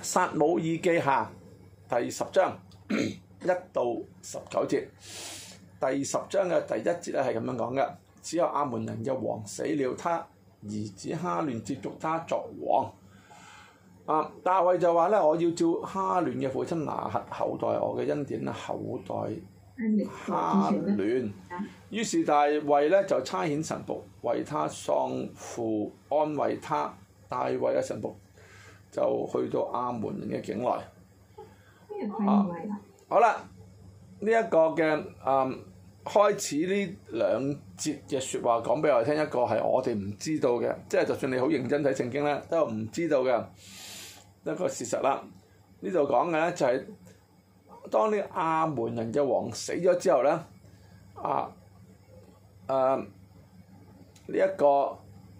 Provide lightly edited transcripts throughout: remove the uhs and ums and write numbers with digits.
撒母耳記下第10章1到19節，第10章嘅第1節咧係咁樣講嘅：只有亞捫人嘅王死了，他兒子哈亂接續他作王。大衛就話咧：我要照哈亂嘅父親拿轄厚待我嘅恩典厚待哈亂。於是大衛咧就差遣臣僕為他喪父安慰他。大衛嘅臣僕就去到亞捫人嘅境內。好啦，呢一個嘅開始呢2節嘅説話講俾我哋聽，一個係我哋唔知道嘅，即係就算你好認真睇聖經咧，都有唔知道嘅一個事實啦。呢度講嘅咧就係當呢亞捫人嘅王死咗之後咧，呢一個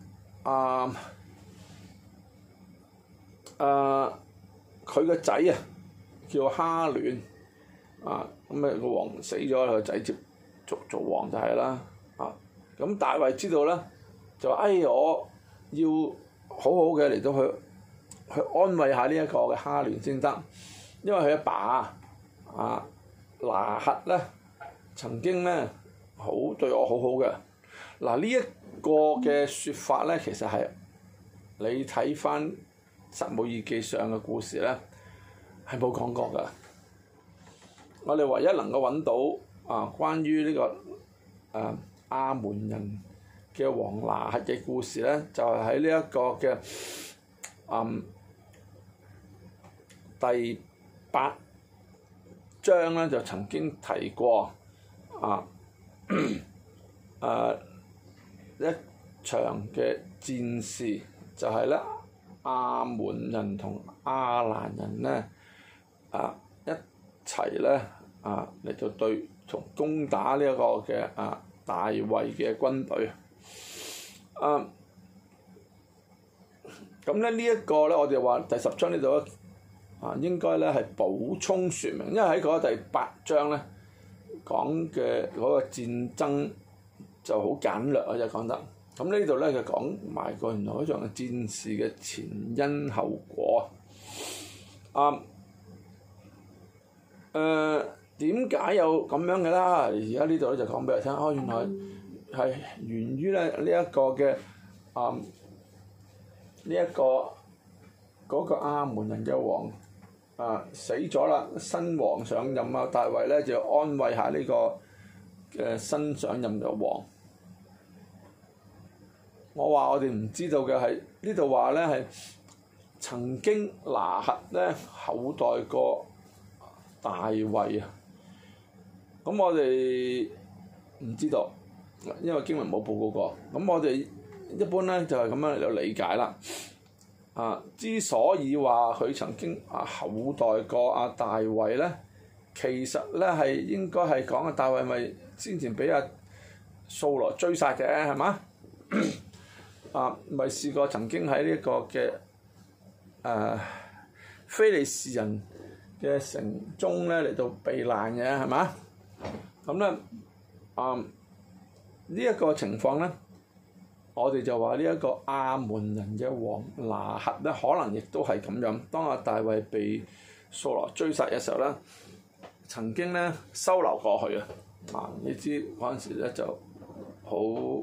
佢個仔啊叫哈亂咁個王死咗，佢個仔接續做王就係啦。咁大衛知道咧，就話我要好好嘅嚟到去安慰下呢一個嘅哈亂先得，因為佢阿爸拿轄咧曾經咧對我好好嘅。呢一個嘅説法咧，其實係你睇翻撒母耳記上嘅故事咧，係冇講過㗎。我哋唯一能夠揾到關於呢個亞捫人嘅王拿轄嘅故事咧，就係喺呢一個嘅第8章咧，就曾經提過一場嘅戰事，就係咧亞捫人同亞蘭人咧一齊咧嚟到同攻打呢一個嘅大衛嘅軍隊。咁咧呢一個咧，我哋話第10章呢度咧應該咧係補充説明，因為喺嗰第8章咧講嘅嗰個戰爭就好簡略啊，就講得。咁呢度咧就講埋個原來嗰場戰事嘅前因後果。點解有咁樣嘅啦？而家呢度咧就講俾你聽，原來係源於咧呢一個嘅嗰個亞捫人嘅王死咗啦，新王上任啊，大衛咧就安慰下呢個嘅新上任嘅王。我話我哋唔知道嘅係呢度話咧係曾經拿轄咧厚待過大衛啊。咁我哋唔知道，因為經文冇報告過。咁我哋一般咧就係咁樣嚟到理解啦。之所以話佢曾經厚待過大衛咧，其實咧係應該係講大衛咪先前俾掃羅追殺嘅係嘛？咪試過曾經喺呢一個嘅非利士人嘅城中咧嚟到避難嘅係嘛？咁咧呢一個情況咧，我哋就話呢一個亞捫人嘅王拿轄咧，可能亦都係咁樣。當大衛被掃羅追殺嘅時候咧，曾經咧收留過去啊！你知嗰陣時咧就好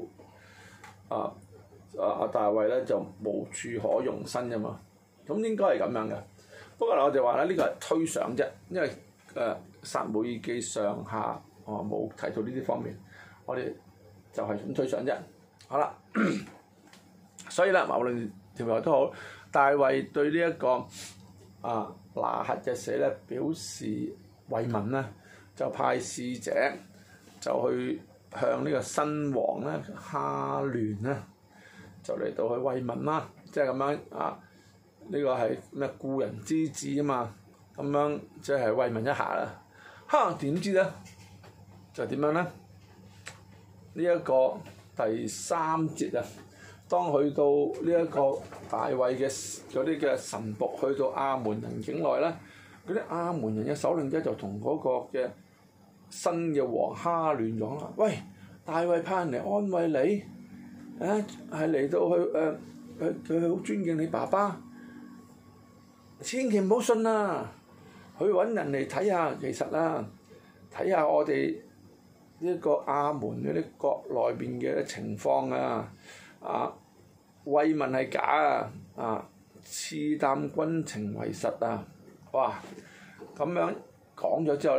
大衛咧就無處可容身㗎嘛，咁應該係咁樣嘅。不過我哋話咧呢個係推想啫，因為撒母耳記上下冇提到呢啲方面，我哋就係咁推想啫。好啦，所以咧無論條路都好，大衛對呢一個拿轄嘅死咧表示慰問咧，就派使者就去向呢個新王咧哈亂咧就嚟到去慰問啦，即係咁樣呢個係咩故人之子啊嘛，咁樣即係慰問一下啦。點知咧就點樣咧？呢一個第3節當去到呢一個大衛嘅嗰啲嘅臣僕去到亞捫人境內咧，嗰啲亞捫人嘅首領咧就同嗰個嘅新嘅王哈亂講啦：喂，大衛派人嚟安慰你，係嚟到佢好尊敬你爸爸， 千祈唔好信啊！去揾人嚟睇下，其實啊，睇下我哋呢個亞門嗰啲國內邊嘅情況啊，慰問係假啊，刺探軍情為實啊！哇，咁樣講咗之後咧，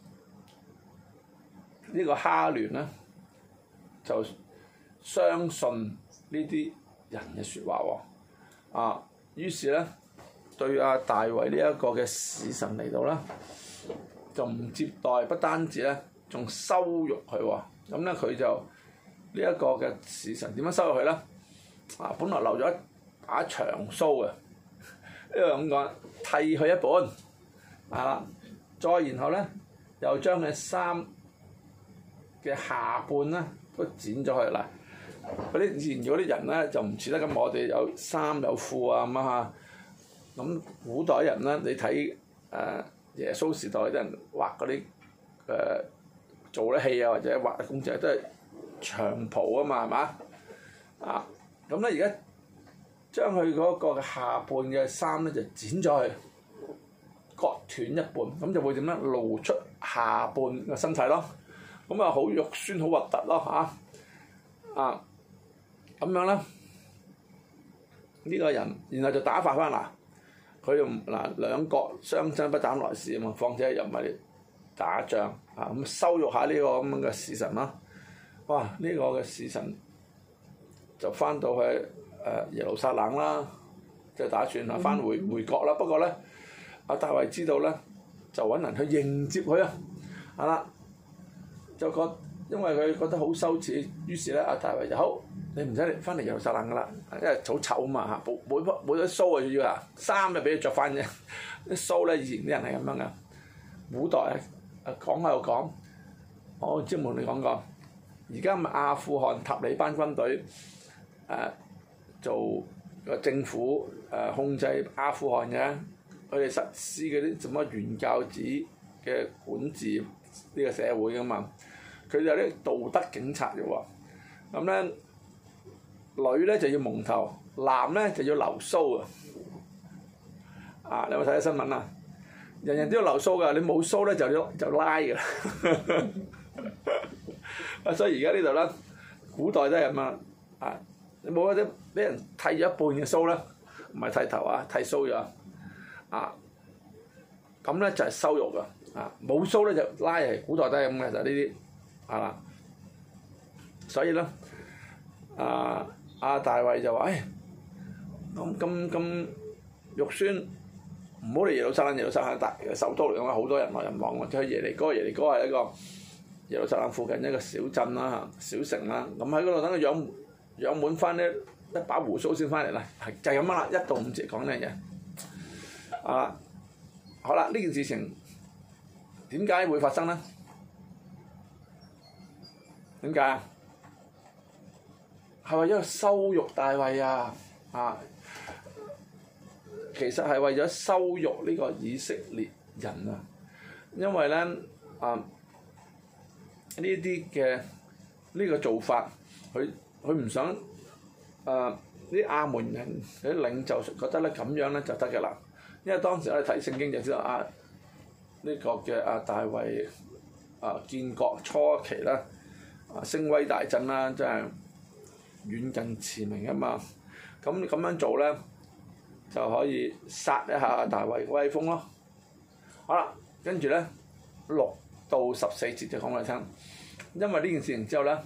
呢個哈亂咧就相信呢啲人嘅説話喎，於是咧對大衛呢一個嘅使臣嚟到啦，就唔接待，不單止咧，仲羞辱佢喎。咁咧佢就呢一個嘅使臣點樣羞辱佢咧？本來留咗一把長鬚嘅，呢個咁講，剃佢一半，再然後咧又將佢衫嘅下半咧都剪咗佢啦。嗰啲以前嗰啲人咧就唔似得咁，我哋有衫有褲啊咁啊。咁古代人咧，你睇耶穌時代啲人畫嗰啲做啲戲啊，或者畫公仔都係長袍啊嘛，係嘛？咁咧而家將佢嗰個下半嘅衫咧就剪咗佢，割斷一半，咁就會點咧？露出下半嘅身體咯。咁好肉酸，好核突咯嚇！咁樣咧，呢個人然後就打發翻嗱。佢又兩國相爭不膽來時啊嘛，況且又唔係打仗咁羞辱下呢個咁樣嘅使臣啦。哇！呢個嘅使臣就翻到去耶路撒冷啦，即係打算翻回國啦。不過咧，大衛知道咧，就揾人去迎接佢啊，就因為佢覺得好羞恥，於是咧大衛就好。你唔使翻嚟耶路撒冷噶啦，因為好醜啊嘛嚇，冇咗鬚啊要衫就俾佢着翻啫。啲鬚咧以前啲人係咁樣噶，古代講喺度講，我之前同你講過，而家咪阿富汗塔利班軍隊做個政府控制阿富汗嘅，佢哋實施嗰啲什麼原教旨嘅管治呢個社會噶嘛，佢哋有啲道德警察嘅喎，咁咧。女咧就要蒙頭，男咧就要留鬚你有冇睇到新聞啊？人人都要留鬚噶，你冇鬚咧就拉㗎啦。所以而家呢度咧，古代都係咁你冇嗰啲俾人剃咗一半嘅鬚咧，唔係剃頭剃鬚咗咁咧就係羞辱㗎冇鬚咧就拉嚟，古代都係咁嘅，就呢啲所以咧大衛就話：咁肉酸，唔好嚟耶路撒冷。耶路撒冷大首都嚟講，好多人來人往。去耶利哥係一個耶路撒冷附近一個小鎮啦、小城啦。咁喺嗰度等佢養滿翻呢一把鬍鬚先翻嚟啦。就係咁樣啦，1到5節講呢樣嘢。好啦，呢件事情點解會發生咧？點解啊？係為咗羞辱大衛其實係為咗羞辱呢個以色列人因為咧呢啲嘅呢個做法，佢唔想啲亞門人啲領袖覺得咧咁樣咧就得嘅啦，因為當時我哋睇聖經就知道呢個嘅大衛建國初期啦聲威大振啦，真係遠近馳名啊嘛，咁樣做咧就可以殺一下大衛嘅威風咯。好啦，跟住咧6到14節就講俾你聽，因為呢件事情之後咧，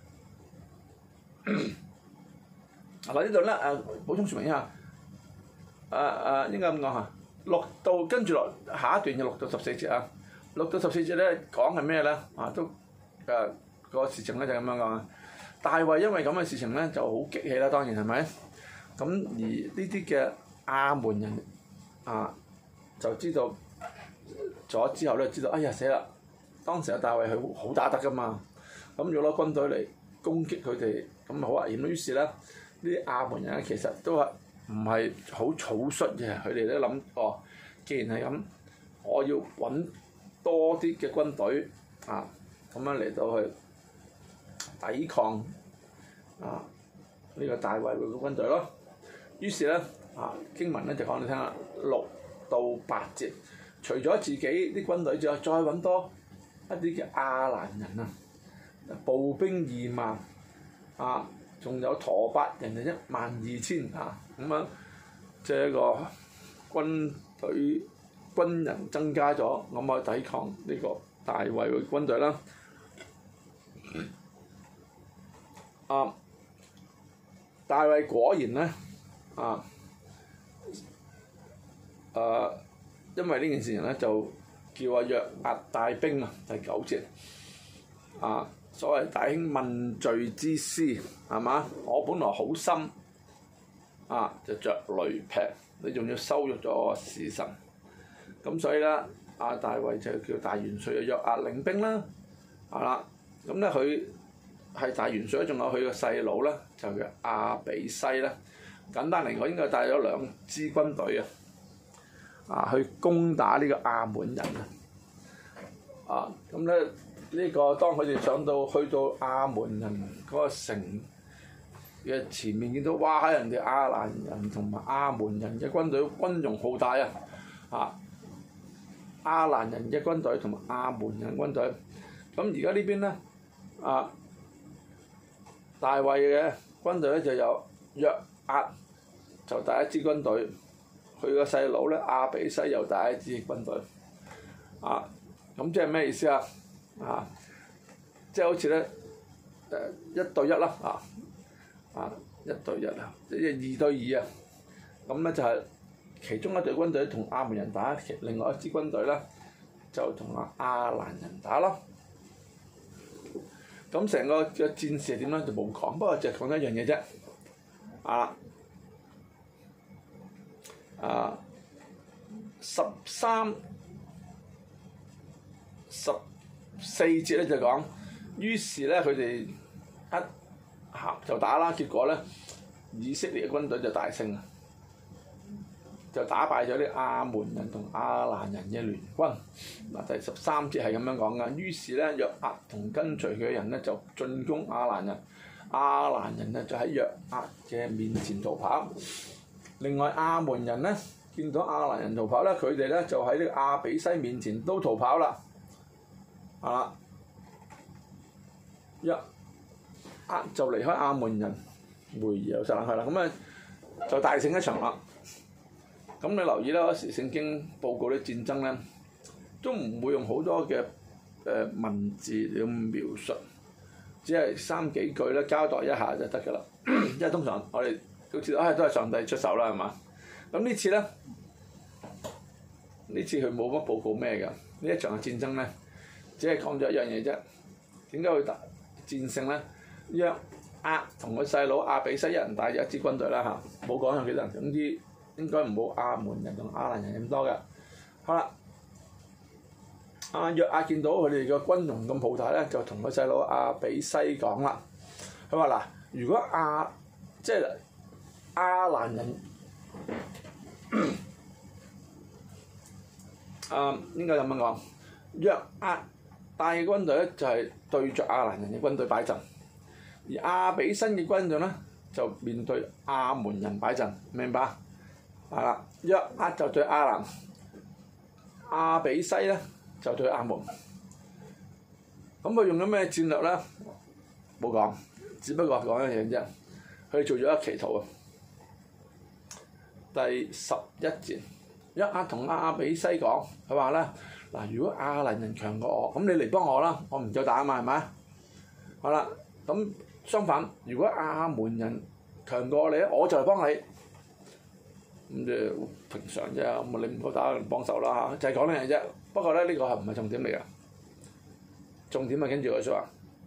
呢度咧補充説明一下，應該咁講嚇，6到跟住落下一段嘅6到14節6到14節咧講係咩咧？都個事情咧就咁樣講大衛因為咁嘅事情咧就好激氣啦，當然係咪？咁而呢啲嘅亞門人就知道咗之後咧，知道哎呀死啦！當時大衛佢好打得噶嘛，咁要攞軍隊嚟攻擊佢哋，咁好危險。於是咧，呢啲亞門人咧其實都係唔係好草率嘅，佢哋都諗既然係咁，我要揾多啲嘅軍隊咁樣嚟到去抵抗呢個大衛嘅軍隊咯。於是咧， 經文咧就講你聽啦6到8節，除咗自己啲軍隊之外，再揾多一啲嘅亞蘭人啊，步兵2萬仲有陀伯人就12000咁樣，即係一個軍人增加咗，咁去抵抗呢個大衛嘅軍隊啦。大衛果然咧因為呢件事情咧，就叫約押帶兵第9節所謂弟兄問罪之師係嘛？我本來好心就着雷劈，你仲要羞辱咗我使臣，咁所以咧大衛就叫大元帥嘅約押領兵啦，咁咧佢係大元帥，仲有佢個細佬咧就叫亞比篩啦。簡單嚟講，應該帶咗2支軍隊去攻打呢個亞門人咁咧呢個當佢哋去到亞門人嗰個城嘅前面，見到哇！人哋亞蘭人同埋亞門人嘅軍隊軍容浩大亞蘭人嘅軍隊同埋亞門人軍隊，咁而家呢邊咧大衛嘅軍隊咧就有約押就帶一支軍隊，佢個細佬咧亞比篩又帶一支軍隊咁即係咩意思即係好似咧1對1啦1對1即係2對2咁咧就係其中一隊軍隊同亞門人打，另外一支軍隊咧就同亞蘭人打咯。咁成個嘅戰事係點咧就冇講，不過就係講一樣嘢啫13、14節咧就講，於是咧佢哋一就打啦，結果咧以色列嘅軍隊就大勝，就打敗咗啲亞門人同亞蘭人嘅聯軍。第13節係咁樣講㗎，於是咧約押同跟隨佢嘅人咧就進攻亞蘭人，亞蘭人咧就喺約押嘅面前逃跑。另外亞門人咧見到亞蘭人逃跑咧，佢哋咧就喺呢個亞比篩面前都逃跑啦。約押就離開亞門人回耶路撒冷去啦，咁咧就大勝一場啦。咁你留意啦，嗰時聖經報告啲戰爭咧，都唔會用好多嘅文字嚟描述，只係3幾句咧交代一下就得㗎啦。因為通常我哋都知道，都係上帝出手啦，係嘛？咁呢次咧，呢次佢冇乜報告咩㗎？呢一場嘅戰爭咧，只係講咗一樣嘢啫。點解會戰勝咧？約押同佢細佬亞比篩一人帶咗一支軍隊啦冇講有幾多人，總之應該唔好亞門人同亞蘭人咁多嘅。好啦，約押見到佢哋嘅軍容咁浩大咧，就同佢細佬亞比篩講啦。佢話嗱，如果即係亞蘭人應該咁樣講，約押帶嘅軍隊咧就係對着亞蘭人嘅軍隊擺陣，而亞比篩嘅軍隊咧就面對亞門人擺陣，明白？係啦，約押就對亞蘭，亞比篩咧就對亞門。咁佢用咗咩戰略咧？冇講，只不過講一樣嘢啫。佢做咗一個祈禱第11節，約押同亞比篩講，佢話咧嗱，如果亞蘭人強過我，咁你嚟幫我啦，我唔夠打啊嘛，係咪？好啦，咁相反，如果亞門人強過你咧，我就嚟幫你。咁即係平常啫，咁你唔夠打，幫手啦就係講呢樣嘢啫。不過咧，呢個係唔係重點嚟㗎？重點係跟住佢說話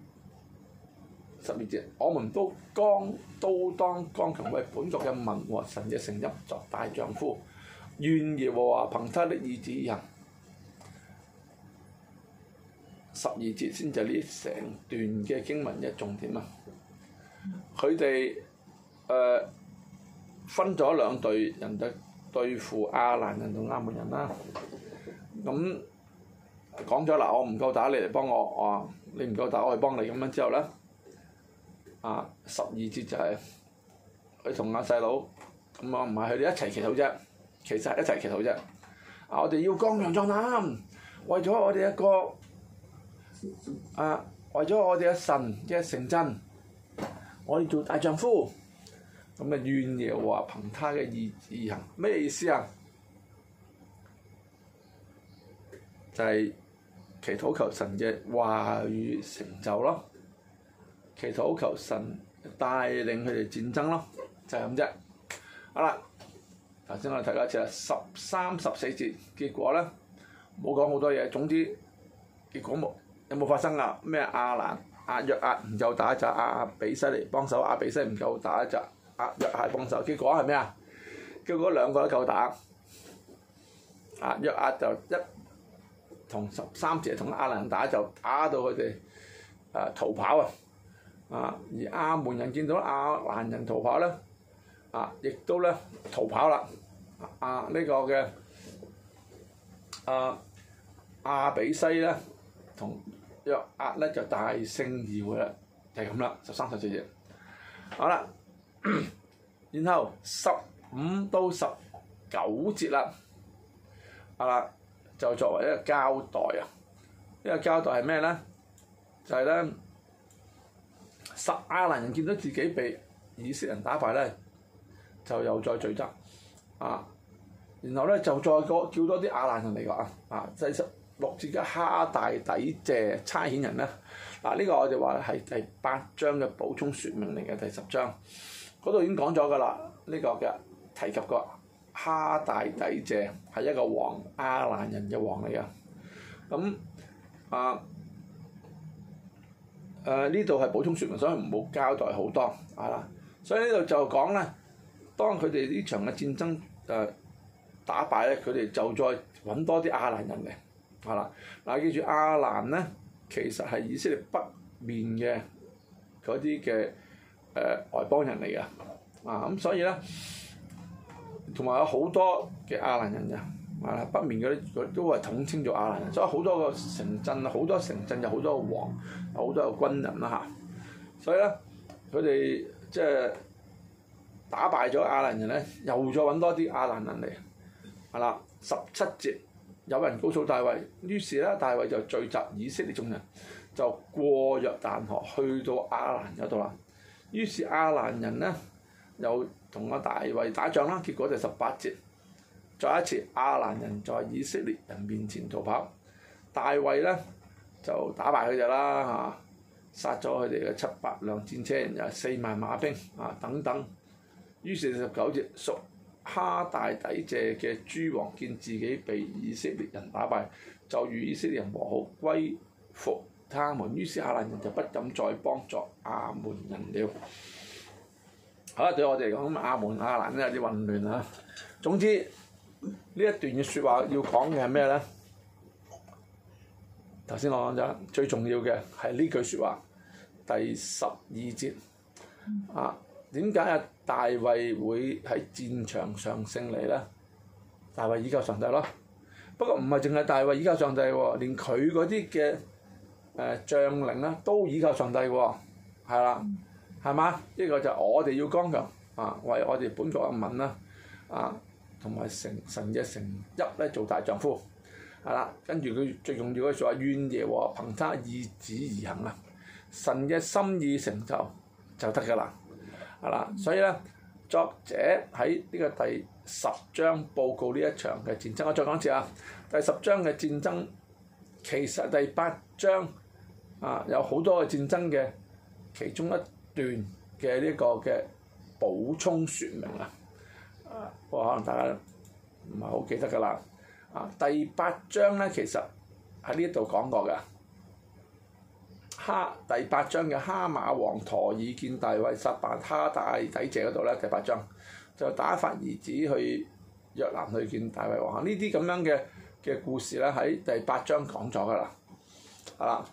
12節，我們都當剛強為本國嘅民和神嘅城邑作大丈夫，願耶和華憑他的意志而行。12節先就係呢成段嘅經文嘅重點啊！佢哋分咗2隊人對付亞蘭人同亞門人啦。咁講咗嗱，我唔夠打，你嚟幫我，你唔夠打，我去幫你咁樣之後咧，12節就係佢同阿細佬咁啊唔係佢哋一齊祈禱啫，其實係一齊祈禱啫。我哋要剛強壯膽，為咗我哋一個為咗我哋嘅神嘅城鎮，我哋做大丈夫。咁啊願耶和華憑他嘅意志而行，咩意思啊？就係祈禱求神嘅話語成就咯，祈禱求神帶領佢哋戰爭咯，就係咁啫。好啦，頭先我哋睇過一次啦，13、14節，結果咧冇講好多嘢，總之結果有冇發生啊？咩亞約押唔夠打就亞比篩嚟幫手，亞比篩唔夠打就亞約押幫手，結果係咩啊？結果兩個都夠打，亞約押就同13節同亞蘭人打，就打到佢哋逃跑而亞門人見到亞蘭人逃跑咧，亦都咧逃跑啦。呢個嘅亞比篩咧同約押咧就大勝而回啦，就係咁啦。13、14節，好啦，然後15到19節啦，就作為一個交代啊！呢個交代係咩咧？就係咧，亞蘭人見到自己被以色列人打敗咧，就又再聚集然後咧就再叫多啲亞蘭人嚟講第16節嘅哈大底謝差遣人咧，呢個我哋話係第8章嘅補充説明嚟嘅，第10章嗰度已經講咗㗎啦，呢個嘅提及過。哈大底謝係一個王，亞蘭人嘅王嚟嘅。咁呢度係補充説明，所以唔好交代好多所以呢度就講咧，當佢哋呢場嘅戰爭打敗咧，佢哋就再揾多啲亞蘭人嚟記住亞蘭咧，其實係以色列北面嘅嗰啲嘅外邦人嚟嘅咁所以咧。同埋有好多嘅亞蘭人北面嗰啲都係統稱做亞蘭人，所以好多個城鎮，好多城鎮有好多個王，有好多個軍人所以咧，佢哋即係打敗咗亞蘭人咧，又再揾多啲亞蘭人嚟17節，有人告訴大衛，於是咧大衛就聚集以色列眾人，就過約旦河去到亞蘭嗰度啦。於是亞蘭人咧又同大衛打仗啦，結果就18節，再一次亞蘭人在以色列人面前逃跑，大衛咧就打敗佢哋啦殺咗佢哋嘅700輛戰車，又4萬馬兵等等。於是19節，屬哈大底謝嘅諸王見自己被以色列人打敗，就與以色列人和好，歸服他們。於是亞蘭人就不敢再幫助亞門人了。好啦，對我哋嚟講，亞門亞蘭咧有啲混亂總之呢一段嘅説話要講嘅係咩咧？頭先我講咗，最重要嘅係呢句説話，第12節點解大衛會喺戰場上勝利咧？大衛倚靠上帝咯。不過唔係淨係大衛倚靠上帝喎，連佢嗰啲嘅將領咧都倚靠上帝喎，係啦。係嘛？呢個就我哋要剛強為我哋本國嘅民啦同埋神嘅城邑咧做大丈夫跟住佢最重要嘅就話願耶和華憑他意志而行神嘅心意成就得㗎啦所以咧作者喺呢個第10章報告呢一場嘅戰爭。我再講一次第10章嘅戰爭其實第8章有好多嘅戰爭嘅其中一段嘅呢個嘅補充説明不過可能大家唔係好記得㗎啦。第8章咧其實喺呢度講過嘅。第8章嘅哈馬王陀以見大衛殺敗哈大底謝嗰度咧，第8章就打發兒子去約蘭去見大衛王。呢啲咁樣嘅故事咧喺第8章講咗㗎啦。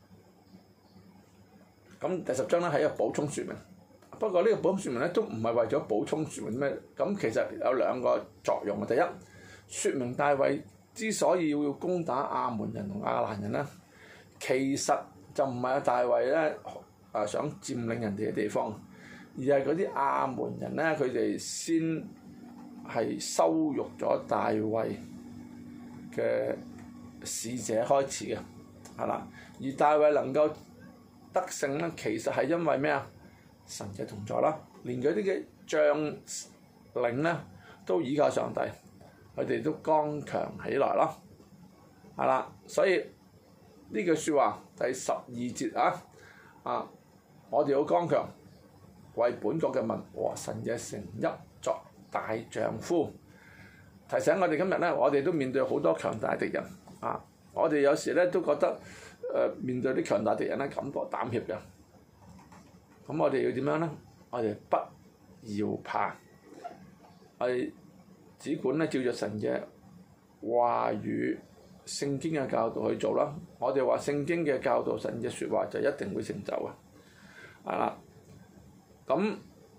咁第10章咧係一個補充説明，不過呢個補充説明咧都唔係為咗補充説明咩，咁其實有兩個作用嘅。第一，説明大衛之所以要攻打亞門人同亞蘭人咧，其實就唔係大衛咧想佔領人哋嘅地方，而而係嗰啲亞門人咧，佢哋先係羞辱咗大衛嘅使者開始嘅，係啦。而大衛能夠得勝咧，其實係因為咩啊？神嘅同在啦，連嗰啲嘅將領咧都倚靠上帝，佢哋都剛強起來咯，係啦。所以呢句説話第12節啊，我哋要剛強，為本國嘅民和神嘅城邑作大丈夫。提醒我哋今日咧，我哋都面對好多強大敵人啊！我哋有時咧都覺得面對啲強大敵人咧，感覺膽怯嘅。咁我哋要點樣咧？我哋不要怕，我哋只管咧照著神嘅話語、聖經嘅教導去做啦。我哋話聖經嘅教導、神嘅説話就一定會成就嘅，係啦。咁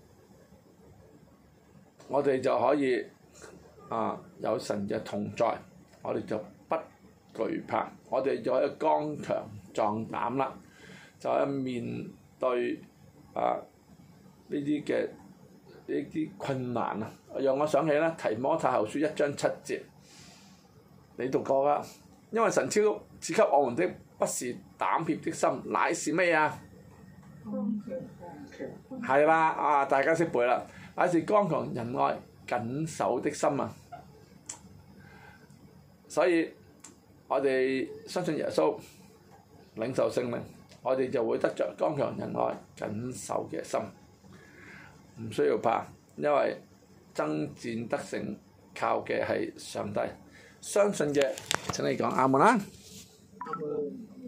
我哋就可以有神嘅同在，我哋就不懼怕，我哋就可以剛強壯膽啦，就係面對呢啲困難啊！讓我想起咧提摩太後書1章7節，你讀過㗎？因為神賜給我們的不是膽怯的心，乃是咩啊？係啦，大家識背啦，乃是剛強仁愛謹守的心啊！所以我哋相信耶穌，領受聖靈，我哋就會得着剛強仁愛謹守嘅心，唔需要怕，因為爭戰得勝靠嘅係上帝。相信嘅請你講阿門啦。